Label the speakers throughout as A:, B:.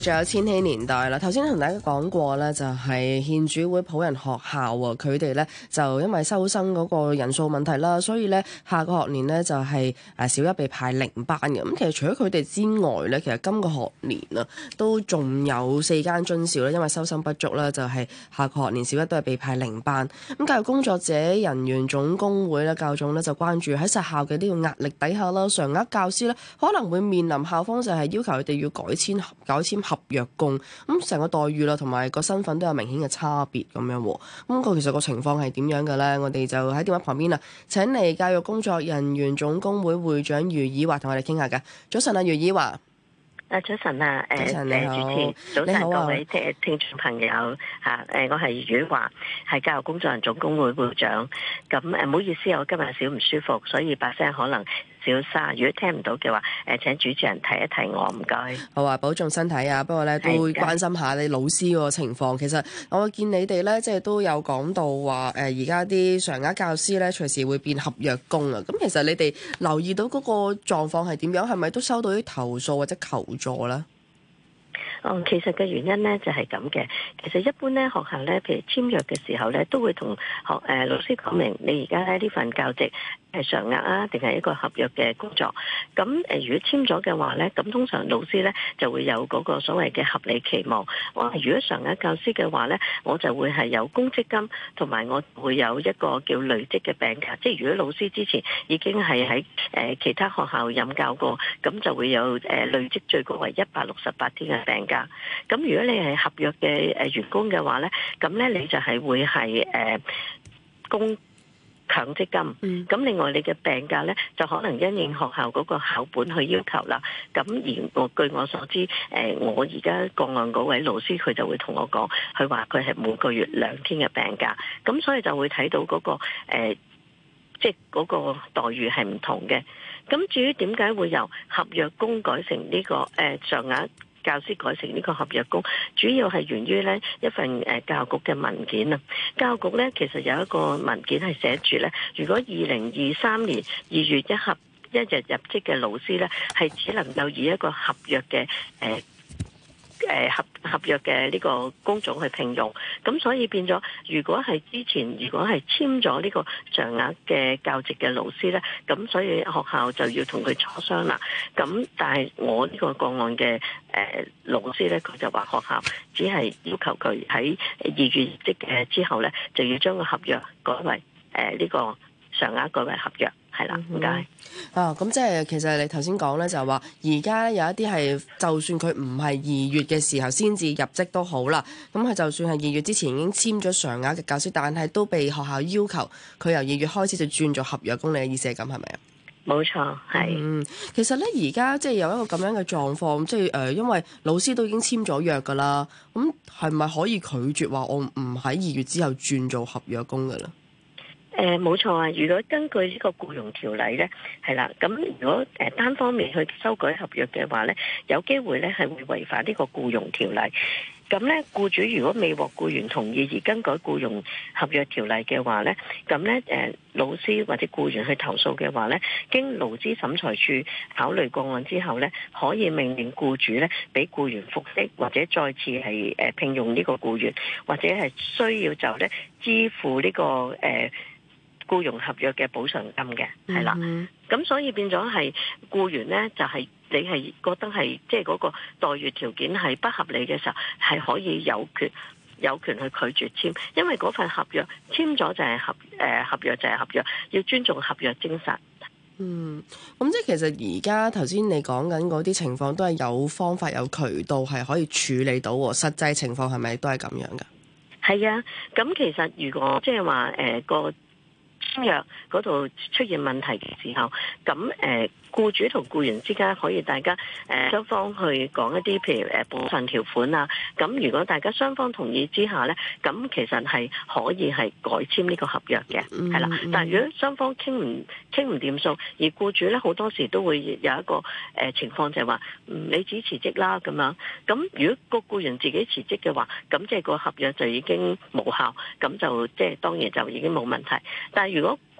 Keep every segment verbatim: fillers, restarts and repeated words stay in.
A: 仲有千禧年代啦，頭先同大家講過咧，就係獻主會普仁學校啊，佢哋咧就因為收生嗰個人數問題啦，所以咧下個學年咧就係誒小一被派零班嘅。咁其實除咗佢哋之外咧，其實今個學年啊都仲有四間津校咧，因為收生不足啦，就係下個學年小一都係被派零班。咁教育工作者人員總工會咧教總咧就關注喺實校嘅呢個壓力底下啦，常額教師咧可能會面臨校方就係要求佢哋要改簽改簽合約工，咁成個待遇啦，同埋個身份都有明顯嘅差別咁樣。咁個其實個情況係點樣嘅咧？我哋就喺電話旁邊啊，請嚟教育工作人員總工會會長余以華同我哋傾下嘅。早晨啊，余以華。
B: 啊，早晨啊，誒，
A: 早晨你好，
B: 主持，早晨
A: 好、啊、
B: 各位聽聽眾朋友嚇，誒，我係余以華，係教育工作人總工會會長。咁誒，唔好意思，我今日少唔舒服，所以把聲可能少沙。如果聽唔到嘅話，誒，請主持人提一提我，唔該。
A: 好啊，保重身體啊！不過咧，都會關心下你老師個情況。其實我見你哋咧，即係都有講到話，誒，而家啲常額教師咧，隨時會變合約工啊。咁其實你哋留意到嗰個狀況係點樣？係咪都收到啲投訴或者求助咧？
B: 哦，其實嘅原因咧就係咁嘅。其實一般咧學校咧，譬如簽約嘅時候咧，都會同學誒、呃、老師講明，你而家咧呢份教職係常額啊，定係一個合約嘅工作。咁誒、呃，如果簽咗嘅話咧，咁通常老師咧就會有嗰個所謂嘅合理期望。我話如果常額教師嘅話咧，我就會係有公積金，同埋我會有一個叫累積嘅病假。即係如果老師之前已經係喺誒其他學校任教過，咁就會有誒、呃、累積最高為一百六十八天嘅病假。咁如果你係合約嘅誒員工嘅話咧，咁咧你就係會係誒供強積金。咁、嗯、另外你嘅病假咧，就可能因應學校嗰個校本去要求啦。咁而我據我所知，誒我而家個案嗰位老師佢就會同我講，佢話佢係每個月兩天嘅病假。咁所以就會睇到嗰、嗰個誒即係嗰個待遇係唔同嘅。咁至於點解會由合約工改成呢、呢個誒常額教師改成呢個合約工，主要係源於呢一份誒教育局嘅文件啊。教育局呢其實有一個文件係寫住呢，如果二零二三年二月一合一日入職嘅老師呢，係只能夠以一個合約嘅誒。呃誒合合約嘅呢個工種去聘用，咁所以變咗，如果係之前如果係簽咗呢個常額嘅教職嘅老師呢，咁所以學校就要同佢磋商啦。咁但係我呢個個案嘅誒、呃、老師呢，佢就話學校只係要求佢喺二月職嘅之後呢，就要將個合約改為誒呢、呃這個常額改為合約。係啦，唔該。
A: 啊，咁即係其實你頭先講咧，就係話而家有一啲係，就算佢唔係二月嘅時候先至入職都好啦。咁佢就算係二月之前已經簽咗常額嘅教師，但係都被學校要求佢由二月開始就轉做合約工。你嘅意思係咁係咪啊？
B: 冇錯，係。
A: 嗯，其實咧而家即係有一個咁樣嘅狀況，即係誒、呃，因為老師都已經簽咗約㗎啦。咁係咪可以拒絕話我唔喺二月之後轉做合約工㗎啦？
B: 誒冇錯啊！如果根據呢個僱傭條例咧，係啦，咁如果誒單方面去修改合約嘅話咧，有機會咧係會違反呢個僱傭條例。咁咧，僱主如果未獲僱員同意而更改僱傭合約條例嘅話咧，咁咧誒老師或者僱員去投訴嘅話咧，經勞資審裁處考慮個案之後咧，可以命令僱主咧俾僱員復職或者再次係誒聘用呢個僱員，或者係需要就咧支付呢個誒僱傭合約嘅補償金嘅，係啦。咁所以變咗係僱員咧，就係、是、你係覺得係即係嗰個待遇條件係不合理嘅時候，係可以有權有權去拒絕簽，因為嗰份合約簽咗就係合誒、呃、合約就係合約，要尊重合約精神。
A: 嗯，咁即係其實而家頭先你講緊嗰啲情況都係有方法有渠道係可以處理到，實際情況係咪都係咁樣㗎？
B: 係啊，咁其實如果即係話誒個簽約嗰度出現問題嘅時候，咁誒僱主同僱員之間可以大家誒雙方去講一啲譬如誒部分條款啊，咁如果大家雙方同意之下咧，咁其實係可以係改簽呢個合約嘅，係啦、嗯。但係如果雙方傾唔傾唔掂數，而僱主咧好多時都會有一個誒情況就係話，嗯，你自己辭職啦咁樣。咁如果個僱員自己辭職嘅話，咁即係個合約就已經無效，咁就即係當然就已經冇問題。但係如果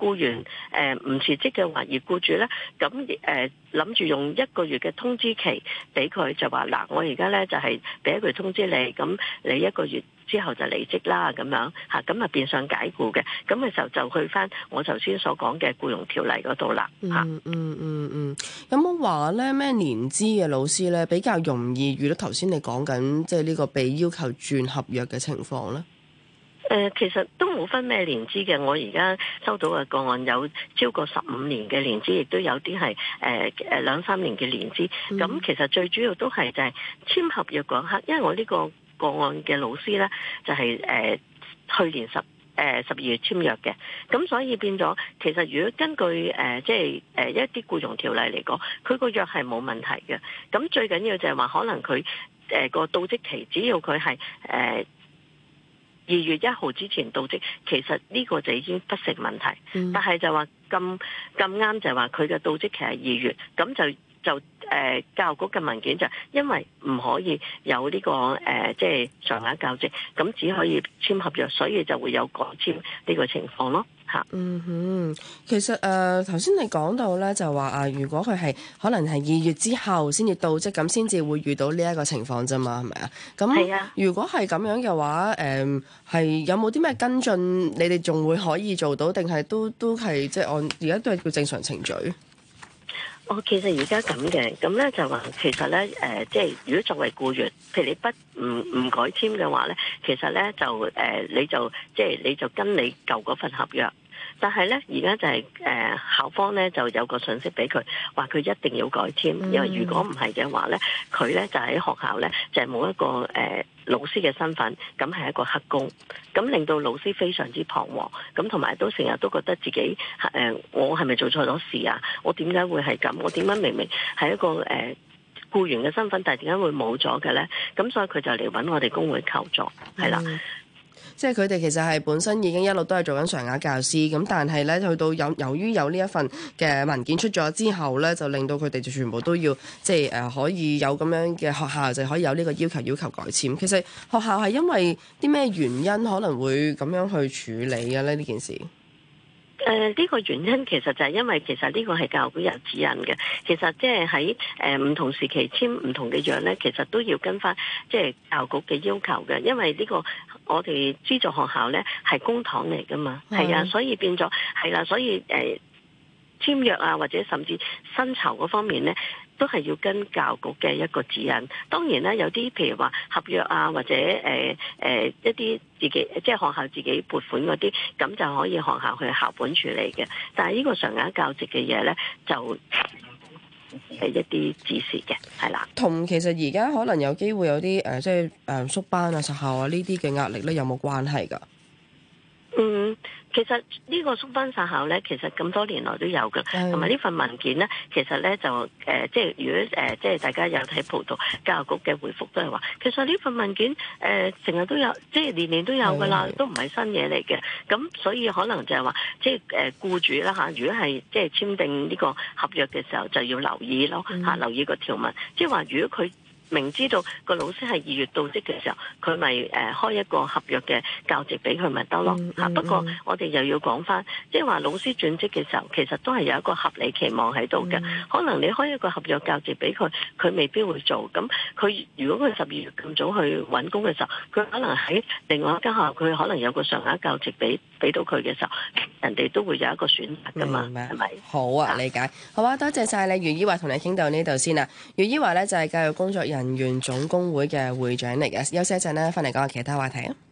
B: 僱員誒唔辭職嘅話，而僱主咧咁誒諗住用一個月嘅通知期俾佢，就話嗱，我而家咧就係俾一個月通知你，咁你一個月之後就離職啦，咁樣嚇，咁啊變相解僱嘅，咁嘅時候就去翻我頭先所講嘅僱傭條例嗰度啦嚇。
A: 嗯嗯嗯嗯，有冇話咧咩年資嘅老師咧比較容易遇到頭先你講緊即係呢個被要求轉合約嘅情況咧？
B: 誒、呃，其實都冇分咩年資嘅。我而家收到嘅個案有超過十五年嘅年資，亦都有啲係誒誒兩三年嘅年資。咁、嗯、其實最主要都係就係簽合約嗰刻，因為我呢個個案嘅老師咧就係、是、誒、呃、去年十誒十二月簽約嘅，咁所以變咗其實如果根據誒即係誒一啲僱傭條例嚟講，佢個約係冇問題嘅。咁最緊要就係話可能佢誒個到職期，只要佢係誒。呃二月一號之前到職，其實呢個就已經不成問題。嗯、但係就話咁咁啱就話佢嘅到職期係二月，咁就就誒、呃、教育局嘅文件就因為唔可以有呢、這個誒即係常額教職，咁只可以簽合約，所以就會有改簽呢個情況咯。
A: 嗯哼，其實誒頭先你講到咧，就話啊，如果佢係可能係二月之後先至到職，咁先至會遇到呢一個情況啫嘛，係咪啊？咁如果係咁樣嘅話，誒、呃、係有冇啲咩跟進？你哋仲會可以做到，定係都都係即係按而家都係叫正常程序？
B: 哦，其實而家咁嘅，咁咧就話其實咧誒、呃，即係如果作為僱員，譬如你不唔唔改簽嘅話咧，其實咧就誒、呃、你就即係你就跟你舊嗰份合約。但係咧，而家就係、是、誒、呃、校方咧就有個信息俾佢，話佢一定要改簽，嗯、因為如果唔係嘅話咧，佢咧就喺學校咧就係、是、冇一個誒、呃、老師嘅身份，咁係一個黑工，咁令到老師非常之彷徨，咁同埋都成日都覺得自己誒、呃、我係咪做錯咗事啊？我點解會係咁？我點解明明係一個誒、呃、僱員嘅身份，但係點解會冇咗嘅咧？咁所以佢就嚟揾我哋工會求助，係啦。
A: 嗯即係佢哋其實係本身已經一路都係做緊常額教師，咁但係咧去到有由於有呢一份嘅文件出咗之後咧，就令到佢哋就全部都要即係誒、呃、可以有咁樣嘅學校就可以有呢個要求要求改簽。其實學校係因為啲咩原因可能會咁樣去處理嘅咧呢件事？
B: 誒呢、呃這個原因其實就係因為其實呢個係教育局有指引嘅，其實即係喺誒唔同時期簽唔同嘅約咧，其實都要跟翻即係教育局嘅要求嘅，因為呢、這個我哋資助學校咧係公帑嚟噶嘛，係的啊，所以變咗係啦，所以誒、呃、簽約啊或者甚至薪酬嗰方面咧，都係要跟教育局嘅一個指引。當然咧，有啲譬如話合約啊，或者誒誒、呃、一啲自己即係學校自己撥款嗰啲，咁就可以學校去校本處理嘅。但係呢個常額教職嘅嘢咧，就係一啲指示嘅，係啦。
A: 同其實而家可能有機會有啲誒、呃，即係誒縮班啊、實校啊呢啲嘅壓力咧，有冇關係㗎？
B: 嗯，其實呢個縮班殺校咧，其實咁多年來都有嘅，同埋呢份文件咧，其實咧就誒、呃，即係如果誒、呃，即係大家有睇報道，教育局嘅回覆都係話，其實呢份文件誒成日都有，即係年年都有噶啦，都唔係新嘢嚟嘅。咁所以可能就係話，即係誒僱主啦嚇，如果係即係簽訂呢個合約嘅時候，就要留意咯嚇，嗯、留意個條文，即係話如果佢明知道個老師係二月到職嘅時候，佢咪誒開一個合約嘅教職俾佢咪得咯嚇。嗯嗯、不過我哋又要講翻，即係話老師轉職嘅時候，其實都係有一個合理期望喺度嘅。嗯、可能你開一個合約教職俾佢，佢未必會做。咁佢如果佢十二月咁早去揾工嘅時候，佢可能喺另外一間學校，佢可能有個常額教職俾俾到佢嘅時候，人哋都會有一個選擇噶嘛，係咪？
A: 好啊，理解。好啊，多謝晒你，余伊樺同你傾到呢度先啦。余伊樺咧就係教育工作人員總工會嘅會長嚟嘅，休息一陣咧，翻嚟講下其他話題啊。